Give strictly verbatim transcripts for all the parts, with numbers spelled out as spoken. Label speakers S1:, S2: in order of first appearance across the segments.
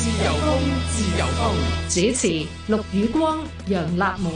S1: 自由風，自由風。
S2: 主持陸宇光、楊立門。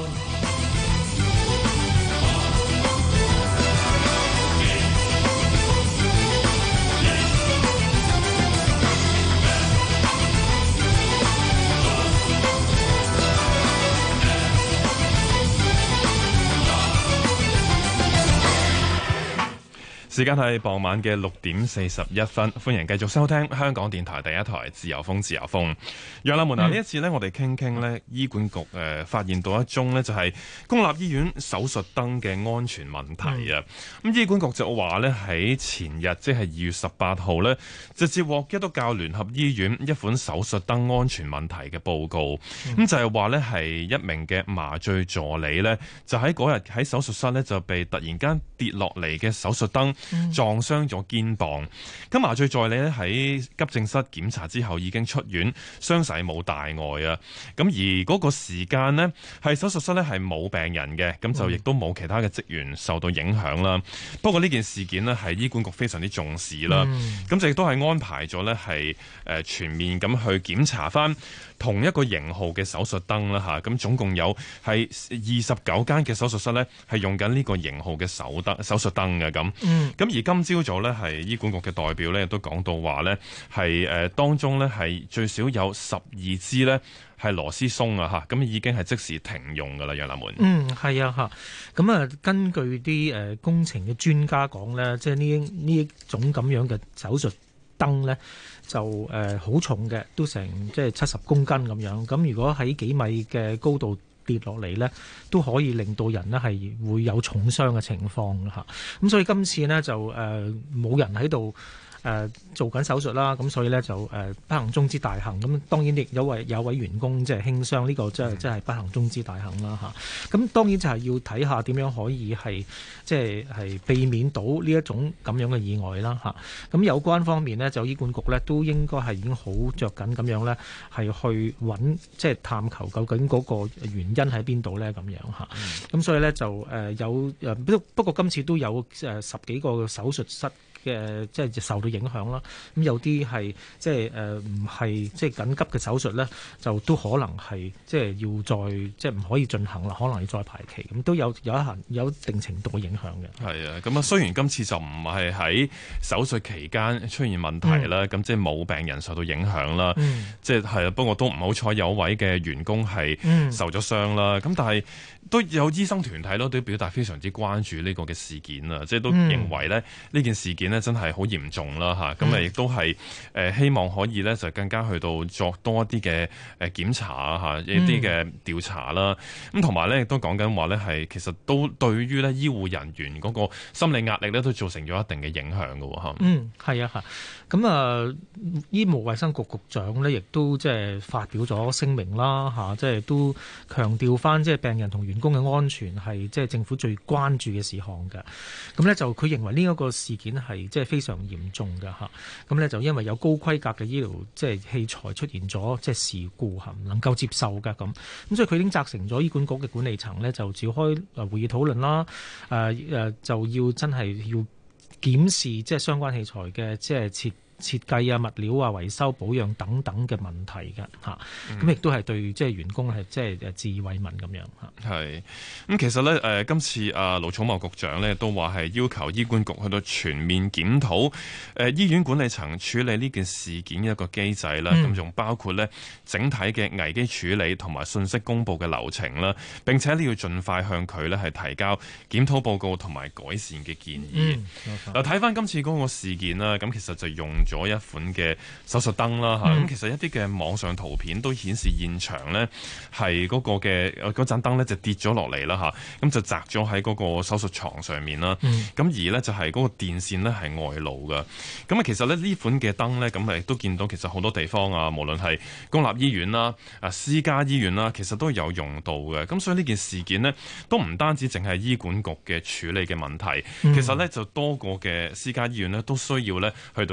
S3: 時間係傍晚嘅六點四十一分，歡迎繼續收聽香港電台第一台自由風自由風。楊立門啊，呢、嗯、一次呢，我哋傾傾呢醫管局誒、呃、發現到一宗呢，就係公立醫院手術燈嘅安全問題啊。咁、嗯、醫管局就話呢，喺前日即係二月十八號呢，就接獲基督教聯合醫院一款手術燈安全問題嘅報告。咁、嗯、就係話呢，係一名嘅麻醉助理呢，就喺嗰日喺手術室呢，就被突然間跌落嚟嘅手術燈撞傷咗肩膀，咁麻醉助理咧喺急症室檢查之後已經出院，傷勢冇大礙啊。咁而嗰個時間呢，係手術室咧係冇病人嘅，咁就亦都冇其他嘅職員受到影響啦。不過呢件事件呢，係醫管局非常之重視啦，咁就亦都係安排咗咧係誒全面咁去檢查翻同一個型號嘅手術燈啦吓，咁總共有係二十九間嘅手術室咧係用緊呢個型號嘅手燈手術燈嘅咁。嗯咁而今朝早咧，係醫管局嘅代表咧，都講到話咧，係誒當中咧係最少有十二支咧係螺絲鬆啊嚇，咁已經係即時停用噶啦，楊立門。
S4: 嗯，係啊嚇，咁啊根據啲誒工程嘅專家講咧，即係呢呢一種咁樣嘅手術燈咧，就誒好重嘅，都成即係七十公斤咁樣。咁如果喺幾米嘅高度跌落嚟呢，都可以令到人呢係會有重傷嘅情況嚇。咁所以今次呢，就誒冇、呃、人喺度誒做緊手術啦，咁所以呢，就誒、呃、不幸中之大幸。咁當然亦有位有位員工即係輕傷，呢、呢個真係真係不幸中之大幸啦嚇。咁當然就係要睇下點樣可以係即係係避免到呢一種咁樣嘅意外啦嚇。咁有關方面呢，就醫管局呢都應該係已經好着緊咁樣呢，係去揾即係探求究竟嗰個原因喺邊度呢咁樣嚇。咁、嗯、所以呢，就誒有誒不不過今次都有誒十幾個手術室嘅即係受到影響啦，咁有啲係即係誒唔係即係緊急嘅手術咧，就都可能係即係要再即係唔可以進行啦，可能要再排期，咁都有有一行有一定程度嘅影響嘅。
S3: 係啊，咁啊雖然今次就唔係喺手術期間出現問題啦，咁、嗯、即係冇病人受到影響啦，嗯、即係係啊，不過都唔好彩有位嘅員工係受咗傷啦，咁、嗯、但係都有醫生團體咯，都表達非常之關注呢個嘅事件啊，即係都認為咧呢、嗯、件事件咧真係好嚴重啦嚇，咁啊亦都係誒希望可以咧就更加去到作多一啲嘅誒檢查啊嚇，一啲嘅調查啦，咁同埋咧亦都講緊話咧係其實都對於咧醫護人員嗰個心理壓力咧都造成咗一定嘅影響㗎喎嚇。
S4: 嗯，係啊嚇，咁啊醫務衛生局局長咧亦都即係發表咗聲明啦嚇，即係都強調翻即係病人同員工嘅安全係即係政府最關注嘅事項嘅。咁咧就佢認為呢一個事件係即係非常嚴重嘅嚇，咁咧就因為有高規格嘅醫療即係器材出現咗即係事故嚇，唔能夠接受嘅咁，咁所以佢已經責成咗醫管局嘅管理層咧就召開誒會議討論啦，誒誒就要真係要檢視即係相關器材嘅即係設設計啊、物料啊、維修保養等等嘅問題嘅嚇，咁亦都係對即係員工係即係誒致以慰問咁樣嚇。
S3: 係咁，其實咧誒今次啊盧寵茂局長咧都話係要求醫管局去到全面檢討誒醫院管理層處理呢件事件嘅一個機制啦，咁、嗯、仲包括咧整體嘅危機處理同埋信息公佈嘅流程啦，並且呢要盡快向佢咧係提交檢討報告同埋改善嘅建議。嗱睇翻今次嗰個事件啦，咁其實就用咗一款嘅手術燈啦嚇，咁、嗯、其實一啲嘅網上圖片都顯示現場呢係嗰個嘅嗰盞燈呢就跌咗落嚟啦嚇，咁就砸咗喺嗰個手術床上面啦，咁、嗯、而呢就係嗰個電線呢係外露嘅，咁啊其實咧呢款嘅燈呢，咁誒都見到其實好多地方啊，無論係公立醫院啦、啊私家醫院啦，其實都有用到嘅，咁所以呢件事件呢，都唔單止淨係醫管局嘅處理嘅問題，嗯、其實呢就多個嘅私家醫院呢，都需要呢去到檢查。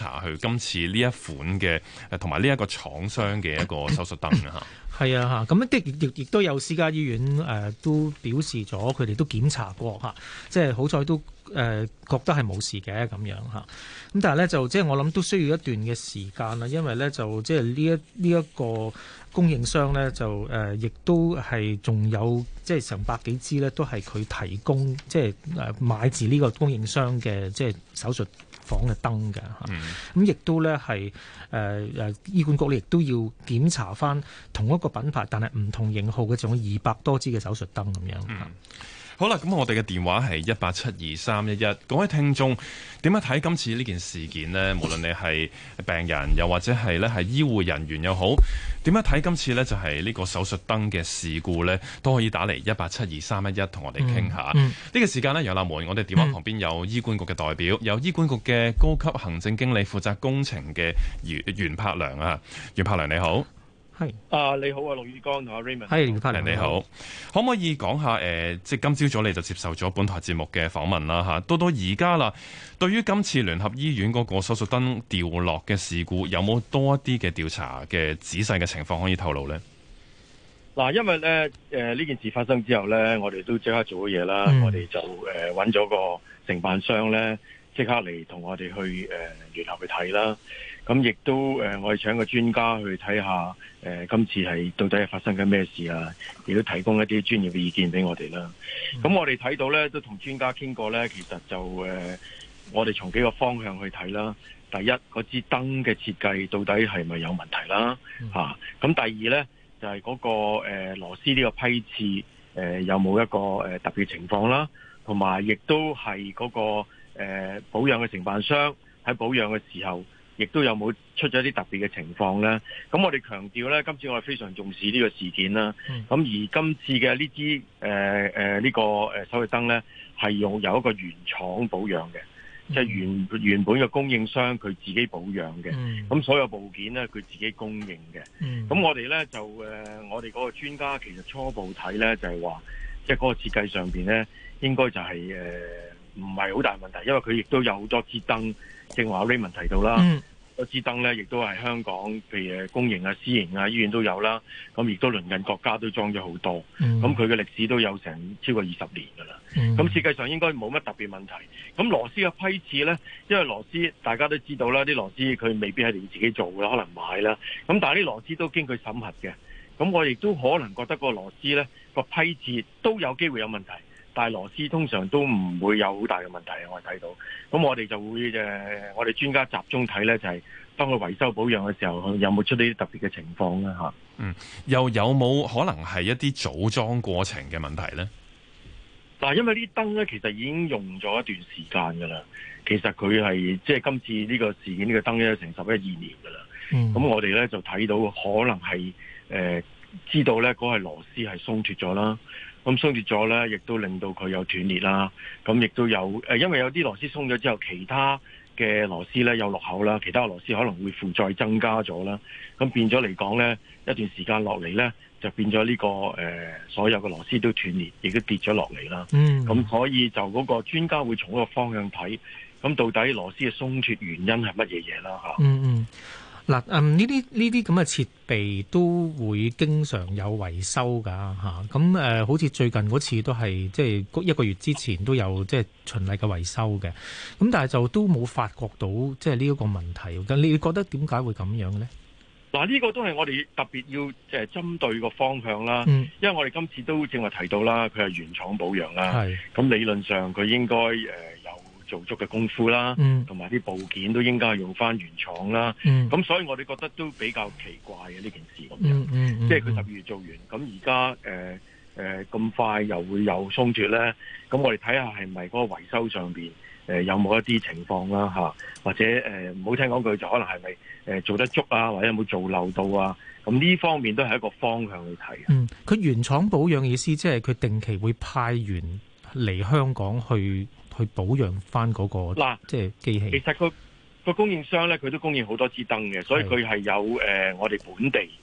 S3: 查去今次呢一款嘅誒同埋呢一個廠商嘅一個手術燈啊？
S4: 係啊，嚇咁的亦亦都有私家醫院誒、呃、都表示咗，佢哋都檢查過嚇，即係好彩都誒、呃、覺得係冇事嘅咁樣嚇。咁但係咧就即係我諗都需要一段嘅時間啦，因為咧就即係呢一呢一個供應商咧就誒亦、呃、都係仲有即係成百幾支咧，都係佢提供即係誒買自呢個供應商嘅即係手術房嘅燈嘅嚇，咁亦、嗯、都咧係誒誒醫管局咧亦都要檢查翻同一個品牌但係唔同型號嘅，仲有二百多支嘅手術燈咁樣。
S3: 嗯好啦，咁我哋嘅電話係一八七二三一一，各位聽眾點樣睇今次呢件事件呢？無論你係病人，又或者係咧係醫護人員又好，點樣睇今次呢？就係呢個手術燈嘅事故呢，都可以打嚟一八七二三一一同我哋傾下。呢、嗯嗯、個時間呢，楊立門，我哋電話旁邊有醫管局嘅代表，有醫管局嘅高級行政經理負責工程嘅袁袁柏良啊，袁柏良你好。
S5: 係啊，你好啊，陸宇光同阿 Raymond。
S4: 係，袁柏良
S3: 你好，可唔可以講下誒、呃，即係今朝早你就接受咗本台節目嘅訪問啦嚇，到到而家啦，對於今次聯合醫院嗰個手術燈掉落嘅事故，有冇多一啲嘅調查嘅仔細嘅情況可以透露呢？
S5: 嗱，因為咧誒呢件事發生之後咧，我哋都即刻做咗嘢啦，嗯、我哋就誒揾咗個承辦商咧，即刻嚟同我哋去誒、呃、聯合去睇啦。咁亦都誒、呃，我哋請個專家去睇下誒、呃，今次係到底係發生緊咩事啊？亦都提供一啲專業嘅意見俾我哋啦。咁、嗯、我哋睇到咧，都同專家傾過咧，其實就誒、呃，我哋從幾個方向去睇啦。第一，嗰支燈嘅設計到底係咪有問題啦？嚇、嗯！咁、啊、第二咧，就係、是、嗰、那個誒、呃、螺絲呢個批次誒、呃、有冇一個誒、呃、特別情況啦？同埋亦都係嗰、那個誒、呃、保養嘅承辦商喺保養嘅時候，亦都有冇出咗啲特別嘅情況咧？咁我哋強調咧，今次我哋非常重視呢個事件啦。咁、嗯、而今次嘅呢支誒誒呢個誒手術燈咧，係用有一個原廠保養嘅，即係、嗯、原原本嘅供應商佢自己保養嘅。咁、嗯、所有部件咧，佢自己供應嘅。咁、嗯、我哋咧就誒、呃，我哋嗰個專家其實初步睇咧，就係、是、話，即係嗰個設計上邊咧，應該就係誒唔係好大問題，因為佢亦都有好多支燈。正話 Raymond 提到啦，嗰支燈咧亦都係香港，譬如公營啊、私營啊醫院都有啦。咁亦都鄰近國家都裝咗好多。咁佢嘅歷史都有成超過二十年㗎啦。咁、嗯、設計上應該冇乜特別問題。咁螺絲嘅批次咧，因為螺絲大家都知道啦，啲螺絲佢未必係你自己做嘅，可能買啦。咁但係啲螺絲都經佢審核嘅。咁我亦都可能覺得個螺絲咧個批次都有機會有問題。但係螺絲通常都唔會有好大嘅問題，我哋睇到。咁我哋就會誒、呃，我哋專家集中睇咧，就係、是、當佢維修保養嘅時候，有冇出呢啲特別嘅情況咧嚇？
S3: 嗯，又有冇可能係一啲組裝過程嘅問題咧？
S5: 嗱，因為啲燈咧其實已經用咗一段時間㗎啦。其實佢係即係今次呢個事件呢、呢個燈咧成十一二年㗎啦。咁、嗯、我哋咧就睇到可能係誒、呃、知道咧嗰個螺絲係鬆脱咗啦。咁鬆脱咗咧，亦都令到佢有斷裂啦。咁亦都有誒，因為有啲螺絲鬆咗之後，其他嘅螺絲咧有落口啦，其他嘅螺絲可能會負載增加咗啦。咁變咗嚟講咧，一段時間落嚟咧，就變咗呢、這個誒、呃，所有嘅螺絲都斷裂，亦都跌咗落嚟啦。嗯。咁所以就嗰個專家會從嗰個方向睇，咁到底螺絲嘅鬆脱原因係乜嘢嘢啦？嚇。嗯嗯。
S4: 嗱，嗯，呢啲呢啲咁嘅設備都會經常有維修㗎嚇，咁、啊、誒、呃，好似最近嗰次都係即係一個月之前都有即係循例嘅維修嘅，咁但係就都冇發覺到即係呢一個問題。咁你覺得點解會咁樣咧？
S5: 嗱，呢個都係我哋特別要即係針對個方向啦，嗯、因為我哋今次都正話提到啦，佢係原廠保養啦，咁是理論上佢應該誒有。做足嘅功夫啦，同埋啲部件都應該係用翻原廠啦。咁、嗯、所以我哋覺得都比較奇怪嘅呢件事咁樣，嗯嗯嗯、即係佢十二月做完，咁而家誒誒咁快又會有鬆脱咧。咁我哋睇下係咪嗰個維修上邊誒、呃、有冇一啲情況啦嚇，或者誒唔好聽講句就可能係咪誒做得足啊，或者有冇做漏到啊？咁呢方面都係一個方向去睇。嗯，
S4: 佢原廠保養嘅意思即係佢定期會派員嚟香港去。去保養翻嗰個嗱，即係機器。
S5: 其實個個供應商咧，佢都供應好多支燈嘅，所以佢係有誒、呃、我哋本地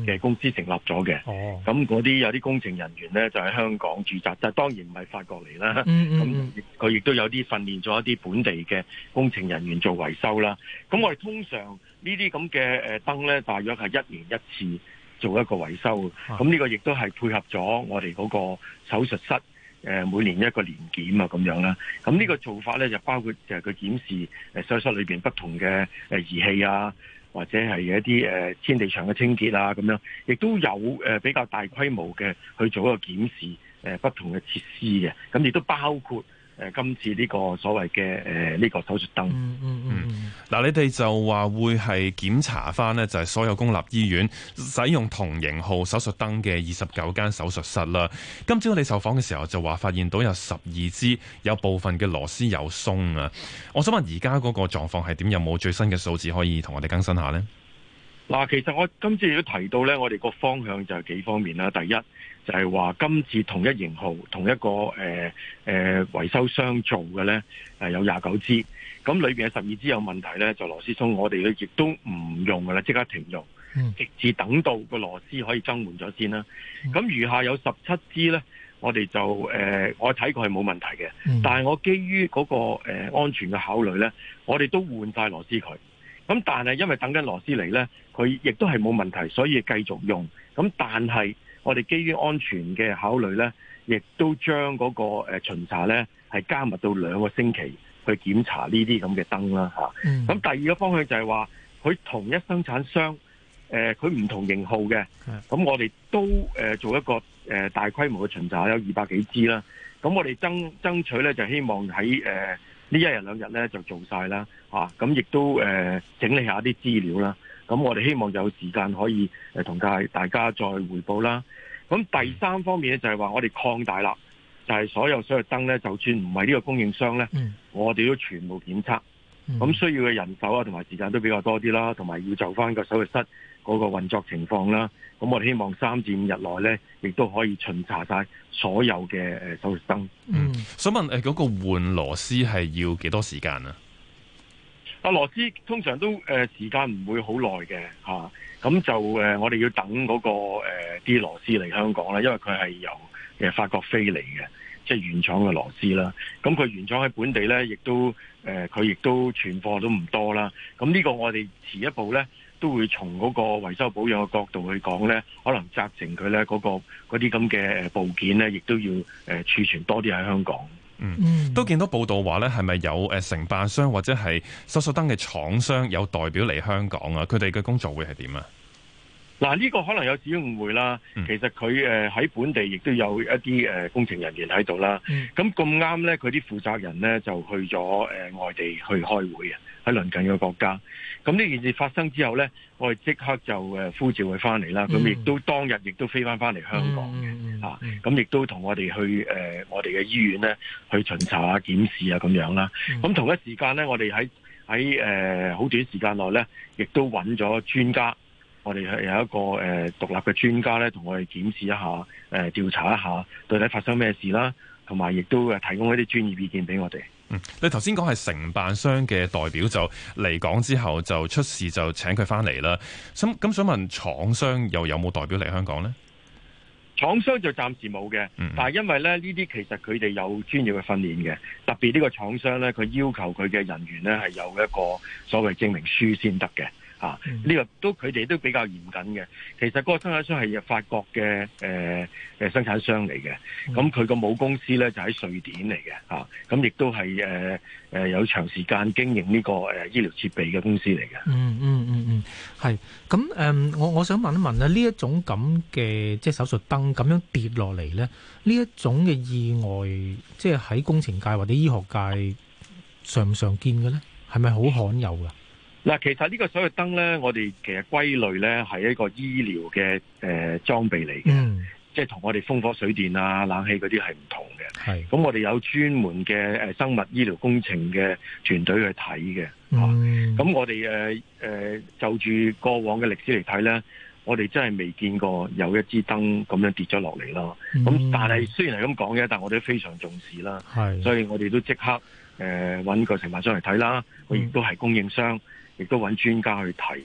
S5: 嘅公司成立咗嘅。
S4: 哦，
S5: 咁嗰啲有啲工程人員咧就喺香港駐紮，但係當然唔係法國嚟啦。
S4: 嗯
S5: 咁佢亦都有啲訓練咗一啲本地嘅工程人員做維修啦。咁我哋通常呢啲咁嘅誒燈咧，大約係一年一次做一個維修。咁呢、啊、個亦都係配合咗我哋嗰個手術室誒每年一個年檢啊咁樣啦。咁呢個做法咧就包括就係佢檢視誒手術室裏邊不同嘅誒儀器啊，或者係一啲誒天地牆嘅清潔啊咁樣，亦都有誒比較大規模嘅去做一個檢視誒不同嘅設施嘅。咁亦都包括誒今次呢個所謂嘅誒呢個手術燈。
S4: 嗯嗯嗯。
S3: 嗱，你哋就話會係檢查翻呢，就係所有公立醫院使用同型號手術燈嘅二十九間手術室啦。今朝你受訪嘅時候就話發現到有十二支有部分嘅螺絲有鬆啊。我想問而家嗰個狀況係點？有冇最新嘅數字可以同我哋更新下呢？
S5: 嗱，其實我今次亦都提到咧，我哋個方向就係幾方面啦。第一就係話今次同一型號、同一個誒誒、呃、維修商做嘅咧，誒有廿九支，咁裏邊有十二支有問題咧，就螺絲鬆，我哋咧亦都唔用噶啦，即刻停用，直至等到個螺絲可以更換咗先啦。咁、嗯、餘下有十七支咧，我哋就誒、呃、我睇過係冇問題嘅，嗯、但係我基於嗰、那個誒、呃、安全嘅考慮咧，我哋都換晒螺絲佢。咁但係因為等緊螺絲嚟咧，佢亦都係冇問題，所以繼續用。咁但係我哋基於安全嘅考慮咧，亦都將嗰個誒巡查咧係加密到兩個星期去檢查呢啲咁嘅燈啦嚇。咁、嗯、第二個方向就係話，佢同一生產商誒佢唔同型號嘅，咁我哋都誒做一個誒大規模嘅巡查，有二百幾支啦。咁我哋爭爭取咧就希望喺誒呢一日兩日咧就做晒啦，嚇咁亦都誒、呃、整理下啲資料啦。咁我哋希望有時間可以誒同大大家再匯報啦。咁第三方面咧就係話我哋擴大啦，就係、是、所有所有燈咧，就算唔係呢個供應商咧，嗯、我哋都全部檢測。咁、嗯、需要嘅人手啊同埋時間都比較多啲啦，同埋要就翻個手術室嗰個運作情況啦。咁我哋希望三至五日內咧，亦都可以巡查晒所有嘅誒手術燈。
S3: 嗯，想問誒嗰個換螺絲係要幾多時間啊？
S5: 啊，螺絲通常都誒、呃、時間唔會好耐嘅嚇，咁、啊、就誒、呃、我哋要等嗰、那個誒啲、呃、螺絲嚟香港啦，因為佢係由誒法國飛嚟嘅，即係原廠嘅螺絲啦。咁佢原廠喺本地咧，亦都誒佢亦都存貨都唔多啦。咁呢個我哋遲一步咧，都會從嗰個維修保養嘅角度去講咧，可能責成佢咧嗰個嗰啲咁嘅部件咧，亦都要誒儲存多啲喺香港。
S3: 嗯，都見到報道話咧，係咪有誒承辦商或者係手術燈嘅廠商有代表嚟香港啊？佢哋嘅工作會係點啊？
S5: 嗱，呢個可能有少少誤會啦。嗯、其實佢誒喺本地亦都有一啲誒工程人員喺度啦。咁咁啱咧，佢啲負責人咧就去咗誒外地去開會啊，喺鄰近嘅國家。咁呢件事發生之後咧，我哋即刻就誒呼召佢翻嚟啦。咁亦、嗯、都當日亦都飛翻翻嚟香港嘅、嗯嗯、啊。咁亦都同我哋去誒、呃、我哋嘅醫院咧去巡查啊、檢視啊咁樣啦。咁、嗯、同一時間咧，我哋喺喺誒好短時間內咧，亦都揾咗專家。我哋係有一個誒、呃、獨立嘅專家咧，同我哋檢視一下，誒、呃、調查一下到底發生咩事啦，同埋亦都誒提供一啲專業意見俾我哋。
S3: 嗯，你頭先講係承辦商嘅代表就嚟港之後就出事就請佢翻嚟啦。咁咁想問廠商又有冇代表嚟香港呢？
S5: 廠商就暫時冇嘅，嗯、但係因為咧呢啲其實佢哋有專業嘅訓練嘅，特別呢個廠商咧，佢要求佢嘅人員咧係有一個所謂證明書先得嘅。啊！呢、這個都佢哋都比較嚴謹嘅。其實嗰個生產商係法國嘅誒誒生產商嚟嘅。咁佢個母公司咧就喺瑞典嚟嘅。嚇咁亦都係誒誒有長時間經營呢個誒醫療設備嘅公司嚟嘅。
S4: 嗯嗯嗯嗯，係。咁誒，我我想問一問咧，呢一種咁嘅即係手術燈咁樣跌落嚟咧，呢一種嘅意外，即係喺工程界或者醫學界常唔常見嘅咧？係咪好罕有㗎？
S5: 嗱，其實呢個手術燈咧，我哋其實歸類咧係一個醫療嘅誒裝備嚟嘅，嗯、即係同我哋風火水電啊、冷氣嗰啲係唔同嘅。係，咁我哋有專門嘅誒生物醫療工程嘅團隊去睇嘅。咁、嗯啊、我哋誒誒就住過往嘅歷史嚟睇咧，我哋真係未見過有一支燈咁樣跌咗落嚟咯。咁、嗯、但係雖然係咁講嘅，但我哋都非常重視啦。係，所以我哋都即刻誒揾個承辦商嚟睇啦。佢亦都係供應商。亦都揾專家去睇啦，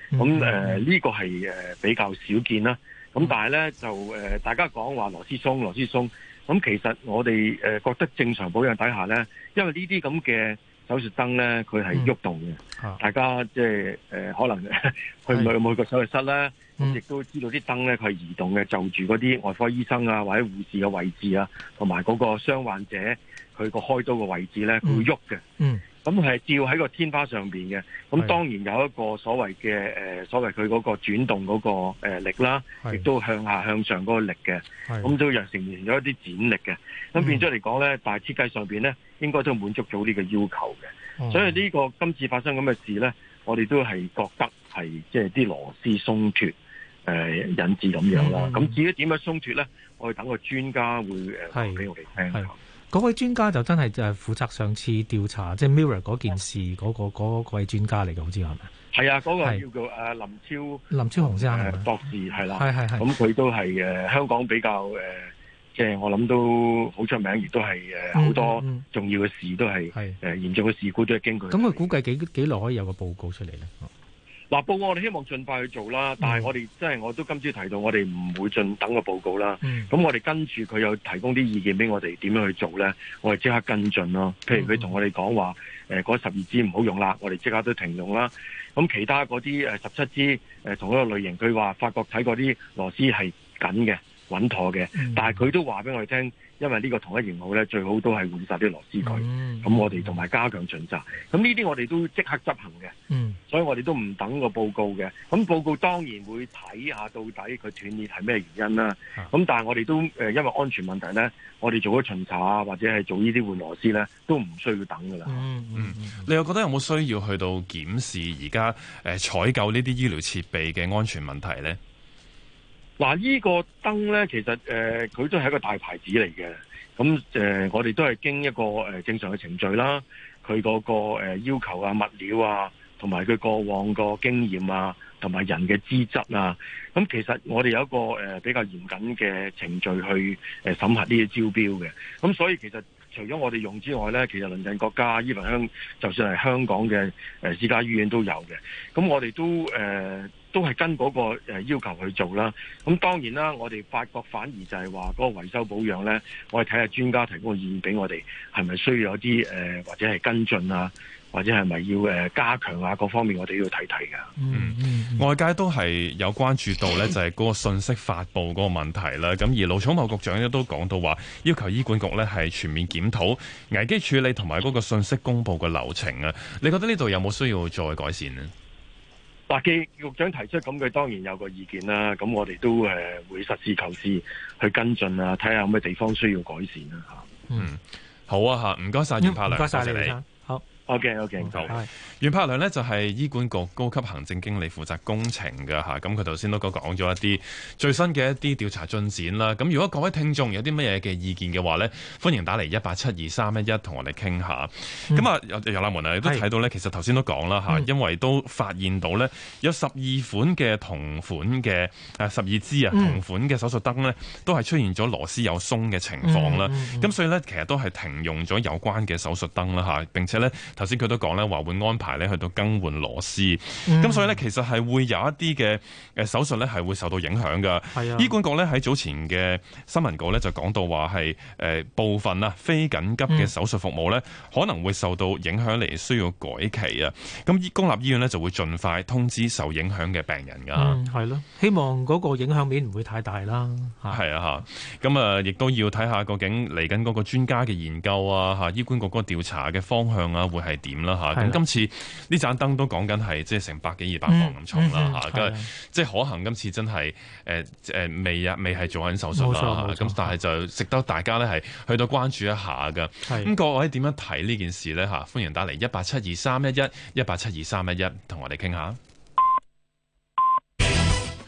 S5: 咁誒呢個係誒比較少見啦。咁但係咧就誒、呃、大家講話螺絲鬆螺絲鬆，咁其實我哋誒、呃、覺得正常保養底下咧，因為呢啲咁嘅手術燈咧，佢係喐動嘅、嗯，大家即係誒可能去唔去每個手術室咧，咁亦都知道啲燈咧佢係移動嘅，就住嗰啲外科醫生啊或者護士嘅位置啊，同埋嗰個傷患者佢個開刀嘅位置咧，佢會喐嘅。嗯，咁係照喺個天花上邊嘅。咁當然有一個所謂嘅誒所謂佢嗰個轉動嗰個誒力啦，亦都向下向上嗰個力嘅。咁都又成現咗一啲剪力嘅。咁變咗嚟講咧，但係設計上邊咧，應該都滿足到呢個要求嘅。嗯、所以呢個今次發生咁嘅事咧，我哋都係覺得係即係啲螺絲鬆脱誒、呃、引致咁樣啦。咁、嗯、至於點樣鬆脱咧，我哋等個專家會誒講俾我哋聽。
S4: 嗰位專家就真係就係負責上次調查即係 Mirror 嗰件事嗰、嗰個嗰位專家嚟嘅，好似係咪？係
S5: 啊，嗰、嗰個叫做誒林超
S4: 林超雄先生、呃、
S5: 博士係啦，
S4: 係係係。
S5: 咁佢都係誒香港比較誒。呃即係我諗都好出名，亦都係誒好多重要嘅事都係誒嚴重嘅事故都係經過。
S4: 咁佢估計幾幾耐可以有個報告出嚟咧？
S5: 嗱，報告我哋希望盡快去做啦，但係我哋即係我都今朝提到，我哋唔會盡等個報告啦。咁、嗯、我哋跟住佢有提供啲意見俾我哋點樣去做咧，我哋即刻跟進咯。譬如佢同我哋講話誒嗰十二支唔好用啦，我哋即刻都停用啦。咁其他嗰啲誒十七支誒同一個類型，佢話發覺睇過啲螺絲係緊嘅。穩妥嘅，但係佢都話俾我哋聽，因為呢個同一型號咧，最好都係換晒啲螺絲佢。咁、嗯、我哋同埋加強巡查，咁呢啲我哋都即刻執行嘅、嗯。所以我哋都唔等個報告嘅。咁報告當然會睇下到底佢斷裂係咩原因啦。咁、啊、但係我哋都誒、呃，因為安全問題咧，我哋做咗巡查啊，或者係做呢啲換螺絲咧，都唔需要等噶啦。
S3: 嗯嗯，你又覺得有冇需要去到檢視而家誒採購呢啲醫療設備嘅安全問題咧？
S5: 嗱，呢個燈咧，其實誒佢、呃、都係一個大牌子嚟嘅。咁誒、呃，我哋都係經一個誒、呃、正常嘅程序啦。佢嗰、那個、呃、要求啊、物料啊，同埋佢過往個經驗啊，同埋人嘅資質啊。咁其實我哋有一個誒、呃、比較嚴謹嘅程序去誒審核呢啲招標嘅。咁所以其實除咗我哋用之外咧，其實鄰近國家依份香，就算係香港嘅誒私家醫院都有嘅。咁我哋都誒。呃都係跟嗰個誒要求去做啦。咁當然啦，我哋發覺反而就係話嗰個維修保養咧，我哋睇下專家提供嘅意見俾我哋，係咪需要有啲誒、呃、或者係跟進啊，或者係咪要誒加強啊？各方面我哋都要睇睇㗎。
S3: 嗯，嗯外界都係有關注到咧，就係嗰個信息發布嗰個問題啦。咁而盧寵茂局長咧都講到話，要求醫管局咧係全面檢討危機處理同埋嗰個信息公佈嘅流程啊。你覺得呢度有冇需要再改善呢？
S5: 嗱，既局長提出咁，佢當然有個意見啦。咁我哋都誒會實事求是去跟進啊，睇下有咩地方需要改善啦嚇。
S3: 嗯，好啊嚇，唔該晒袁柏良，
S4: 唔該晒你。
S3: 你
S4: 好。
S5: OK OK，好。
S3: 袁柏良呢就係醫管局高級行政經理，負責工程嘅嚇。咁佢頭先都講講咗一啲最新嘅一啲調查進展啦。咁如果各位聽眾有啲乜嘢嘅意見嘅話呢，歡迎打嚟一八七二三一一同我哋傾下。咁、嗯、啊，有有啦門啊，你都睇到呢，其實頭先都講啦嚇，因為都發現到呢，有十二款嘅同款嘅誒十二支啊同款嘅手術燈呢，都係出現咗螺絲有鬆嘅情況啦。咁、嗯嗯、所以呢，其實都係停用咗有關嘅手術燈啦嚇。並且呢，頭先佢都講咧話會安排咧去到更換螺絲，咁、嗯、所以咧其實係會有一啲嘅誒手術咧係會受到影響㗎。係啊，醫管局咧喺早前嘅新聞稿咧就講到話係誒部分啊非緊急嘅手術服務咧、嗯、可能會受到影響嚟需要改期啊。咁公立醫院咧就會盡快通知受影響嘅病人㗎。
S4: 嗯，係咯，希望嗰個影響面唔會太大啦。
S3: 係啊嚇，咁啊亦都要睇下究竟嚟緊嗰個專家嘅研究啊嚇，醫管局嗰個調查嘅方向啊會係點啦嚇。咁今次呢盞燈都講緊係即係成百幾二百磅咁重啦嚇，咁、嗯嗯、即係可行今次真係誒誒未啊未係做緊手術啦，咁但係就值得大家咧係去到關注一下㗎。咁各位點樣睇呢件事咧嚇？歡迎打嚟一八七二三一一一八七二三一一同我哋傾下。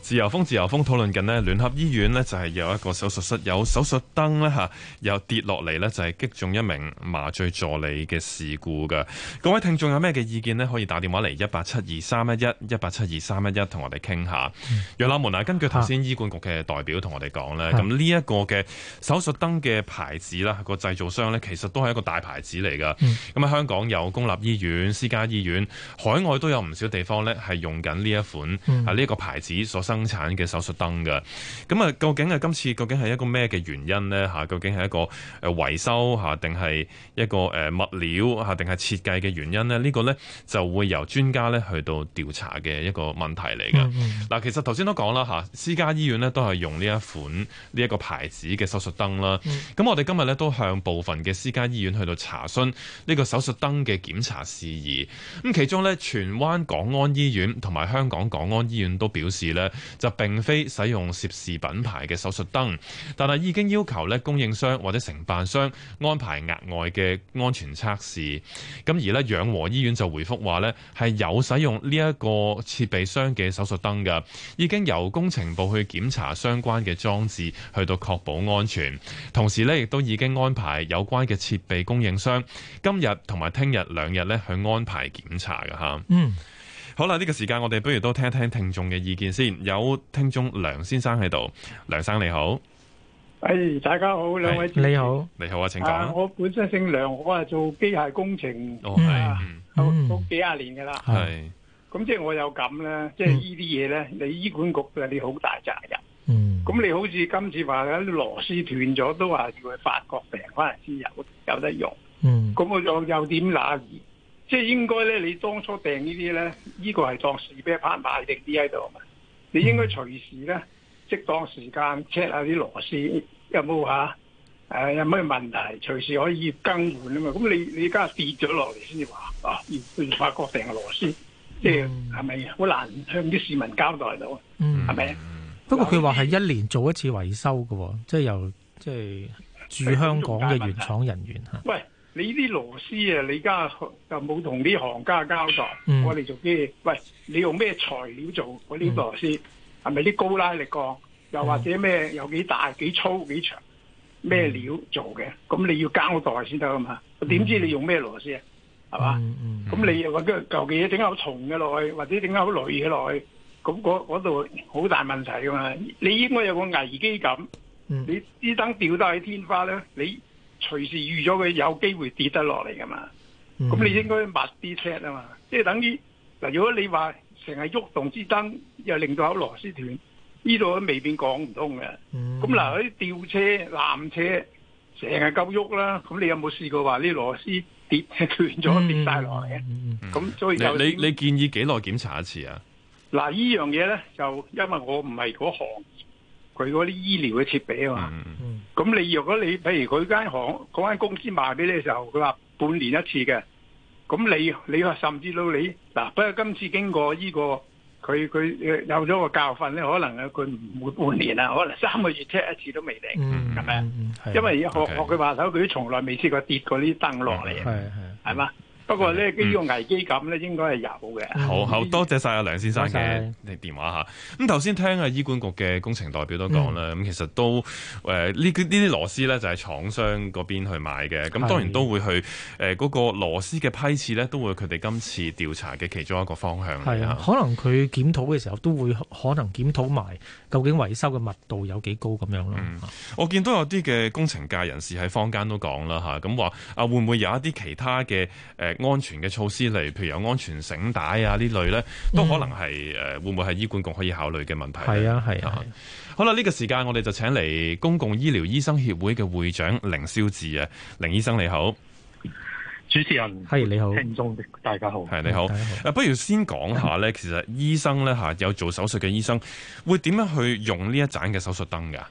S3: 自由風自由風討論緊呢，聯合醫院呢就係有一個手術室有手術燈呢嚇，又跌落嚟呢就係擊中一名麻醉助理嘅事故㗎。各位聽眾有咩嘅意見呢？可以打電話嚟一八七二三一一一八七二三一一同我哋傾下。楊立門啊，根據頭先醫管局嘅代表同我哋講呢，咁呢一個嘅手術燈嘅牌子啦，個製造商呢其實都係一個大牌子嚟㗎。咁喺香港有公立醫院、私家醫院，海外都有唔少地方呢係用緊呢一款啊呢一個牌子所生產嘅手術燈嘅。咁啊，究竟係今次究竟係一個咩嘅原因呢？嚇，究竟係一個誒維修嚇，定係一個誒物料嚇，定係設計嘅原因呢？呢、呢個呢就會由專家呢去到調查嘅一個問題嚟嘅。嗱、嗯嗯，其實頭先都講啦嚇，私家醫院呢都係用呢一款呢一個牌子嘅手術燈啦。咁、嗯、我哋今日呢都向部分嘅私家醫院去到查詢呢個手術燈嘅檢查事宜。咁其中呢，荃灣港安醫院同埋香港港安醫院都表示呢，就並非使用涉事品牌嘅手術燈，但係已經要求咧供應商或者承辦商安排額外嘅安全測試。咁而咧養和醫院就回覆話咧係有使用呢一個設備商嘅手術燈㗎，已經由工程部去檢查相關嘅裝置，去到確保安全。同時咧亦都已經安排有關嘅設備供應商今日同埋聽日兩日咧去安排檢查㗎吓。嗯。好啦，呢、這個時間我哋不如都聽一聽聽眾嘅意見先。有聽眾梁先生喺度，梁生你好。
S6: 誒，大家好，兩位
S4: 你好，
S3: 你好啊，請講、啊。
S6: 我本身姓梁，我係做機械工程，
S3: 哦係，
S6: 都、嗯、都幾廿年噶啦。
S3: 係，
S6: 咁即係我有咁咧，即係呢啲嘢咧，你醫管局嘅你好大責任。嗯。咁你好似今次話啲螺絲斷咗，都話要去法國訂翻嚟先有有得用。嗯。咁我又又點拿？即係應該咧，你當初訂呢啲咧，呢、這個係當時俾一拍賣定啲喺度嘛？你應該隨時咧，適當時間 check 下啲螺絲有冇嚇，誒、啊、有咩問題，隨時可以更換啊嘛。咁你你而家跌咗落嚟先至話啊，要去法國訂嘅螺絲，即係係咪好難向啲市民交代到？嗯，係咪？
S4: 不過佢話係一年做一次維修嘅，即係由即係駐香港嘅原廠人員嚇。喂。
S6: 你啲螺絲啊，你而家就冇同啲行家交代。嗯、我哋做機，喂，你用咩材料做嗰啲螺絲？係咪啲高拉力鋼？又或者咩？有幾大、幾粗、幾長？咩料做嘅？咁你要交代先得啊嘛。點知你用咩螺絲啊？係嘛？咁、嗯嗯、你又話跟舊嘅嘢整口重嘅落去，或者整口鋁嘅落去，咁嗰度好大問題噶嘛？你應該有個危機感。嗯、你啲燈吊得喺天花咧，你。隨時預咗佢有機會跌得落嚟噶嘛，咁、嗯、你應該密啲 check 啊嘛，即係等於嗱，如果你話成日喐動支燈，又令到有螺絲斷，呢度都未必講唔通嘅。咁嗱，啲吊車、纜車成日夠喐啦，咁你有冇試過話啲螺絲跌斷咗跌晒落嚟嘅？咁、嗯嗯、所以就
S3: 你你建議幾耐檢查一次啊？
S6: 嗱，呢樣嘢咧就因為我唔係嗰行。佢嗰啲醫療嘅設備啊嘛，咁、嗯、你如果你譬如佢間行嗰間公司賣俾你嘅時候，佢話半年一次嘅，咁你你話甚至到你嗱，不過今次經過呢、呢個佢佢有咗個教訓咧，可能佢唔會半年啊，可能三個月 check 一次都未定，係咪啊？因為學學佢話頭，佢都從來未試過跌過啲燈落嚟，係係嘛？不過咧，呢個危機感咧，應該係有嘅。好
S3: 好多謝晒阿梁先生嘅電話嚇。咁頭先聽啊，醫管局嘅工程代表都講啦，咁、嗯、其實都誒呢呢啲螺絲咧就係廠商嗰邊去買嘅。咁當然都會去誒嗰、呃那個螺絲嘅批次咧，都會佢哋今次調查嘅其中一個方向。係啊，
S4: 可能佢檢討嘅時候都會可能檢討埋究竟維修嘅密度有幾高咁樣咯、嗯。
S3: 我見到有啲嘅工程界人士喺坊間都講啦嚇，咁話啊會唔會有一啲其他嘅誒？呃安全嘅措施嚟，譬如有安全繩帶啊呢類咧，都可能係誒、嗯、會唔會係醫管局可以考慮嘅問題？係
S4: 啊係啊，啊。
S3: 好啦，呢、這個時間我哋就請嚟公共醫療醫生協會嘅會長凌霄志啊，凌醫生你好。
S7: 主持人
S4: 係你好，
S7: 聽眾大家好，
S3: 係你好。誒，不如先講下咧，其實醫生咧嚇有做手術嘅醫生會點樣去用呢一盞嘅手術燈㗎？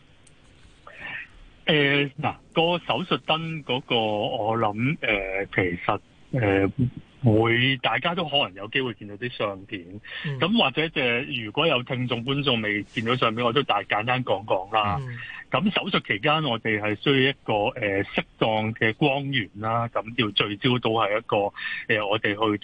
S7: 誒嗱，個手術燈嗰個我諗誒、呃，其實。誒、呃，會大家都可能有機會見到啲相片，咁、嗯、或者即係如果有聽眾觀眾未見到相片，我都大簡單講講啦。咁、嗯、手術期間，我哋係需要一個誒適、呃、當嘅光源啦，咁要聚焦到係一個誒、呃，我哋去到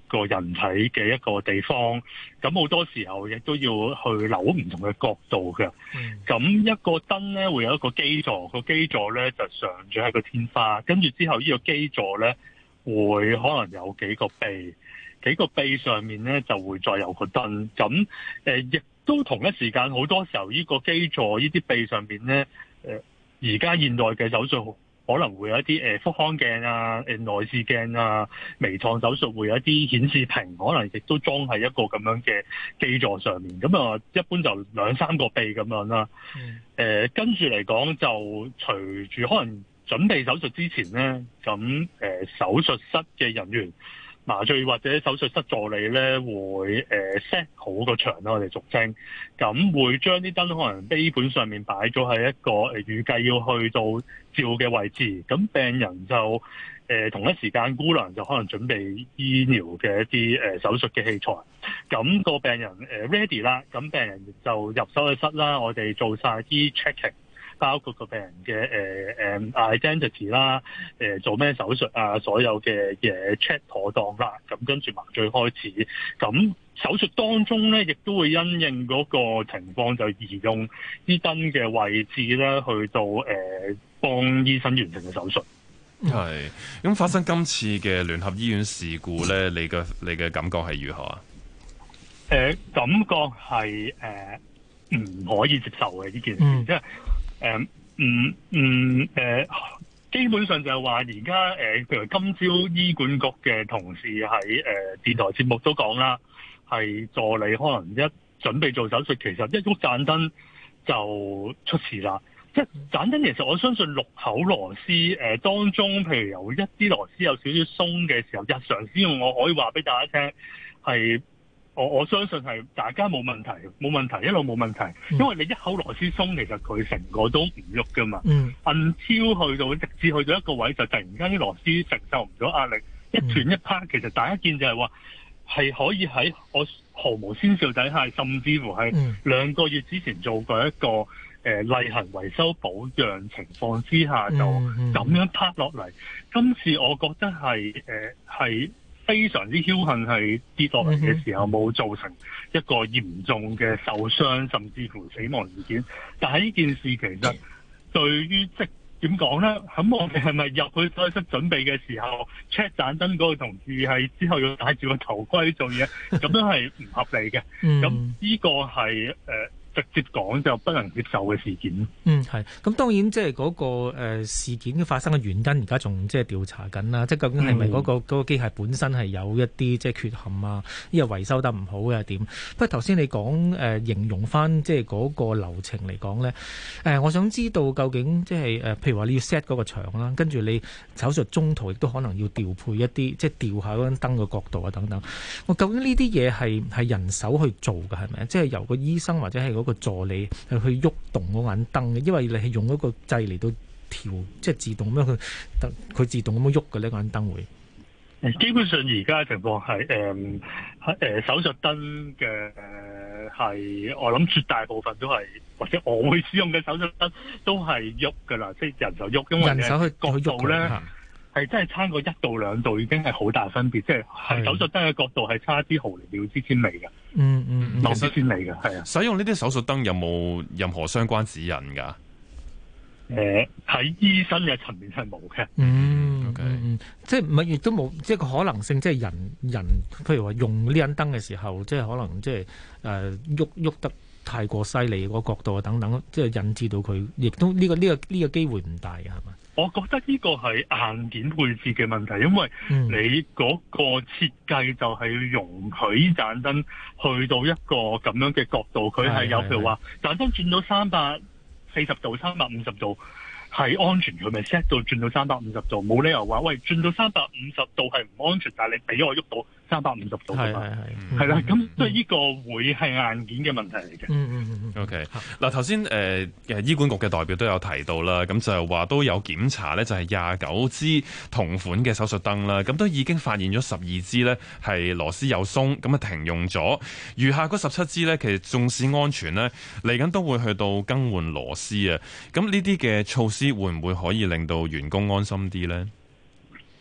S7: 個人體嘅一個地方，咁好多時候亦都要去扭唔同嘅角度嘅。咁、嗯、一個燈咧會有一個基座，個基座咧就上咗喺個天花，跟住之後呢個基座咧會可能有幾個臂，幾個臂上面咧就會再有個燈。咁誒亦都同一時間好多時候呢個基座呢啲臂上面咧，誒而家現代嘅手術可能會有一啲誒腹腔鏡啊、誒內視鏡啊、微創手術會有一啲顯示屏，可能亦都裝喺一個咁樣嘅基座上面。咁啊，一般就兩三個臂咁樣啦。誒、嗯呃，跟住嚟講就隨住可能準備手術之前咧，咁誒、呃、手術室嘅人員、麻醉或者手術室助理咧會誒 set 好個場啦，我哋俗稱，咁會將啲燈可能基本上面擺咗喺一個誒預計要去到照嘅位置，咁病人就誒、呃、同一時間姑娘就可能準備醫療嘅一啲誒、呃、手術嘅器材，咁、那個病人誒、呃、ready 啦，咁病人就入手術室啦，我哋做晒啲 checking。包括個病人嘅誒誒 identity 啦，誒做咩手術啊，所有嘅嘢 check 妥當啦，咁跟住麻醉開始。咁手術當中咧，亦都會因應嗰個情況，就移用啲燈嘅位置咧，去到誒、呃、幫醫生完成嘅手術。
S3: 係咁發生今次嘅聯合醫院事故咧，你嘅你嘅感覺係如何啊？
S7: 誒、呃、感覺係誒唔可以接受嘅呢件事，即係。誒，嗯嗯，誒、呃，基本上就係話而家誒，譬如今朝醫管局嘅同事喺誒、呃、電台節目都講啦，係助理可能一準備做手術，其實一喐盞燈就出事啦。即係盞燈，其實我相信六口螺絲誒、呃、當中，譬如有一啲螺絲有少少鬆嘅時候，日常使用我可以話俾大家聽係。我我相信係大家冇問題，冇問題，一路冇問題，因為你一口螺絲鬆，其實佢成個都唔喐噶嘛。嗯，硬超去到直至去到一個位，就突然間啲螺絲承受唔到壓力，一斷一拍。其實大家見就係話係可以喺我毫無先兆底下，甚至乎係兩個月之前做過一個誒、呃、例行維修保養情況之下，就咁樣拍落嚟。今次我覺得係誒係。呃非常之僥倖，係跌落嚟嘅時候冇造成一個嚴重嘅受傷甚至乎死亡事件。但係呢件事其實對於即點講咧？咁我哋係咪入去手術室準備嘅時候 check 盞燈嗰個同事係之後要戴住個頭盔做嘢？咁樣係唔合理嘅。咁呢個係誒。呃直接講就不能接受嘅事件。
S4: 嗯，係。咁當然即係嗰個、呃、事件嘅發生嘅原因，而家仲即係調查緊啦。即係究竟係咪嗰個嗰、嗰個機械本身係有一啲即係缺陷啊？呢個維修得唔好嘅點？不過頭先你講誒、呃、形容翻即係嗰個流程嚟講咧，誒、呃、我想知道究竟即係誒譬如話你要 set 嗰個場啦，跟住你手術中途亦都可能要調配一啲即係調下嗰燈嘅角度啊等等。我究竟呢啲嘢係係人手去做嘅係咪？即係由個醫生或者係嗰個助理去喐動嗰盞燈嘅，因為你係用一個掣嚟到調，即係自動咁樣去，佢自動咁樣喐嘅呢盞燈會。
S7: 基本上而家嘅情況係誒誒手術燈嘅誒係，我諗絕大部分都係，或者我會使用嘅手術燈都係喐㗎啦，即係人手喐，因為人手去角度咧係真係差過一到兩度，已經係好大分別，即係係手術燈嘅角度係差啲毫釐秒之千微嘅。嗯嗯，毫釐千微嘅係啊。
S3: 使用呢啲手術燈有冇任何相關指引㗎？
S7: 誒、呃，喺醫生嘅層面係冇嘅。
S4: 嗯 ，OK，嗯，即係唔係亦都冇，即係個可能性，即係人人，譬如話用呢盞燈嘅時候，即係可能即係誒喐喐得太過犀利個角度啊等等，即係引致到佢，亦都呢、這個呢、這個呢、這個機會唔大嘅係嘛？
S7: 我覺得呢個係硬件配置嘅問題，因為你嗰個設計就係要容許呢盞燈去到一個咁樣嘅角度，佢係有譬如話盞燈轉到三百四十度、三百五十度係安全，佢咪 set 到轉到三百五十度，冇理由話喂轉到三百五十度係唔安全，但係你俾我喐到三百五十度㗎嘛，係係啦，咁所以呢個會係硬件嘅問題嚟嘅。嗯嗯嗯
S3: OK， 嗱頭先誒誒醫管局嘅代表都有提到啦，咁就係話都有檢查咧，就係廿九支同款嘅手術燈啦，咁都已經發現咗十二支咧係螺絲有鬆，咁啊停用咗，餘下嗰十七支咧其實縱使安全咧，嚟緊都會去到更換螺絲啊，咁呢啲嘅措施會唔會可以令到員工安心啲咧？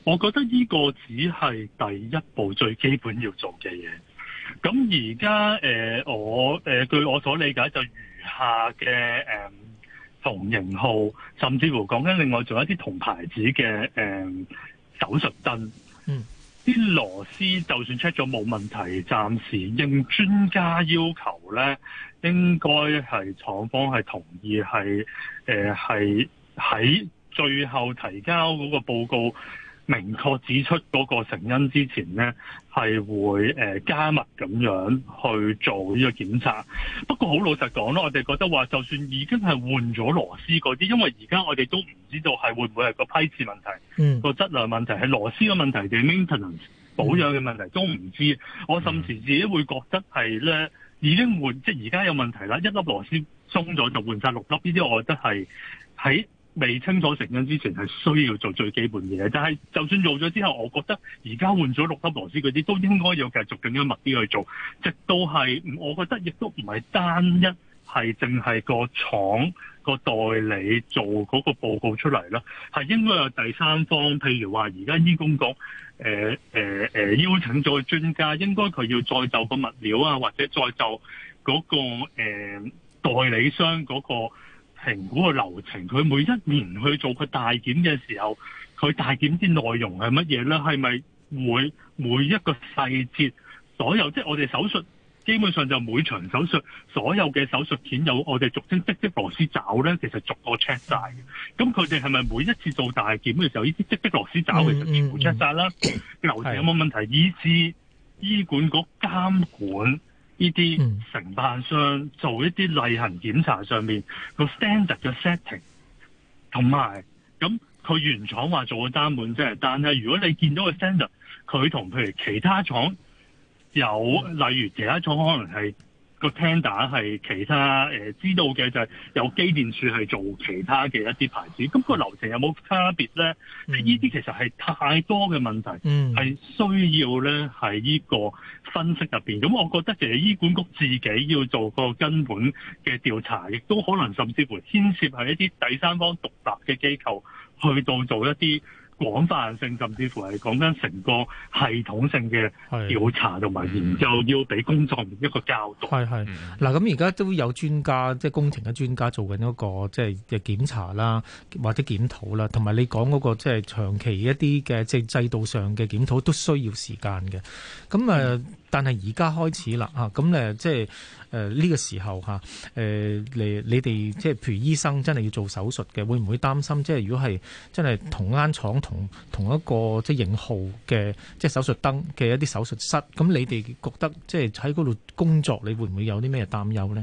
S7: 我覺得呢個只係第一步最基本要做嘅嘢。咁而家誒我誒、呃、據我所理解就餘下嘅誒、呃、同型號，甚至乎講緊另外仲有一啲同牌子嘅誒、呃、手術燈，嗯，啲螺絲就算 check 咗冇問題，暫時應專家要求咧，應該係廠方係同意係誒係喺最後提交嗰個報告明確指出嗰個成因之前呢，係會誒加密咁樣去做呢個檢查。不過好老實講咯，我哋覺得話，就算已經係換咗螺絲嗰啲，因為而家我哋都唔知道係會唔會係個批次問題，嗯，個質量問題，係螺絲嘅問題定 maintenance 保養嘅問題都唔知。我甚至自己會覺得係咧已經換，即係而家有問題啦，一粒螺絲鬆咗就換晒六粒，呢啲我覺得係喺未清楚成因之前係需要做最基本嘅嘢，但係就算做咗之後，我覺得而家換咗六粒螺絲嗰啲都應該要繼續更加密啲去做，直到係我覺得亦都唔係單一係淨係個廠個代理做嗰個報告出嚟啦，係應該有第三方，譬如話而家醫工局誒誒誒邀請咗專家，應該佢要再就個物料啊，或者再就嗰個誒、呃、代理商嗰個評估嘅流程，佢每一年去做佢大檢嘅時候，佢大檢啲內容係乜嘢咧？係咪會每一個細節，所有即係我哋手術基本上就每場手術所有嘅手術片有我哋俗稱積積螺絲爪咧，其實逐個 check 晒嘅。咁佢哋係咪每一次做大檢嘅時候，呢啲積積螺絲爪其實全部 check 晒啦？流程有冇問題？以至醫管局監管呢啲承辦商做一啲例行檢查上面個 standard 嘅 setting， 同埋咁佢原廠話做個單滿啫，但係如果你見到個 standard， 佢同譬如其他廠有，例如其他廠可能係個 tender 係其他誒、呃、知道嘅就係有機電署係做其他嘅一啲牌子，咁、個流程有冇差別咧？呢啲、嗯、其實係太多嘅問題，係、嗯、需要咧喺呢個分析入邊。咁我覺得其實醫管局自己要做個根本嘅調查，亦都可能甚至乎牽涉係一啲第三方獨立嘅機構去到做一啲廣泛性，甚至乎係講緊成個系統性嘅調查同埋研究，要俾公眾一個交代。
S4: 係係嗱，咁而家都有專家，即係工程嘅專家做緊一個即係嘅檢查啦，或者檢討啦，同埋你講嗰個即係長期一啲嘅即係制度上嘅檢討都需要時間嘅。咁誒，嗯、但係而家開始啦嚇，咁誒即係誒呢個時候嚇誒你你哋即係譬如醫生真係要做手術嘅，會唔會擔心即係如果係真係同間廠同同一個即係型號嘅即係手術燈嘅一啲手術室，咁你哋覺得即係喺嗰度工作，你會唔會有啲咩擔憂咧？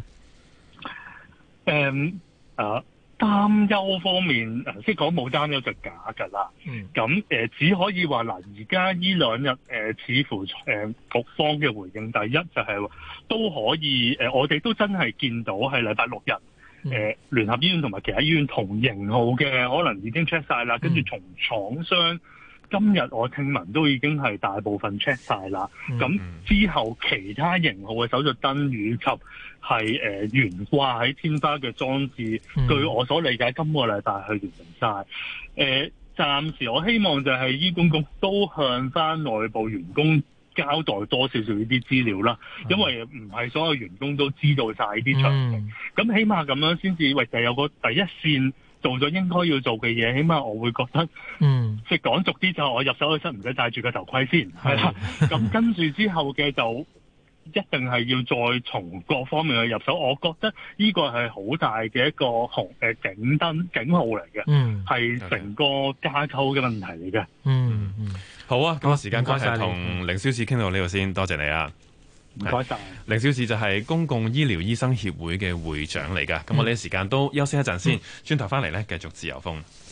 S7: 誒啊！擔憂方面，即係講冇擔憂就假㗎啦。咁誒、嗯呃、只可以話嗱，而家呢兩日誒、呃，似乎誒、呃、局方嘅回應，第一就係、是、都可以誒、呃，我哋都真係見到係禮拜六日誒、呃、聯合醫院同埋其他醫院同型號嘅，可能已經 check 晒啦。跟住從廠商今日我聽聞都已經係大部分 check 晒啦。咁、嗯、之後其他型號嘅手術燈以及係誒懸掛喺天花嘅裝置，嗯、據我所理解，今個禮拜去完成晒。誒、呃，暫時我希望就係醫管局都向翻內部員工交代多少少呢啲資料啦，嗯、因為唔係所有員工都知道晒呢啲詳情。咁、嗯、起碼咁樣先至，喂，就有個第一線做咗應該要做嘅嘢，起碼我會覺得，嗯，即係講俗啲就我入手去室唔使戴住個頭盔先，係啦。咁跟住之後嘅就一定係要再從各方面去入手，我覺得呢個係好大嘅一個紅誒警燈警號嚟嘅，嗯，係成個架構嘅問題嚟嘅。嗯
S3: 嗯，好啊，咁啊時間關係，同凌霄志傾到呢度先，多謝你啊，
S7: 唔該晒。
S3: 凌霄志就係公共醫療醫生協會嘅會長嚟㗎，咁、嗯、我哋時間都休息一陣先，轉頭翻嚟咧繼續自由風。